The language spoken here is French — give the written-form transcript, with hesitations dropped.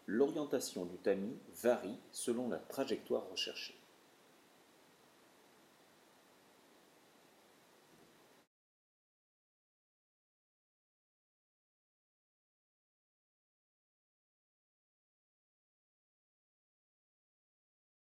L'orientation du tamis varie selon la trajectoire recherchée.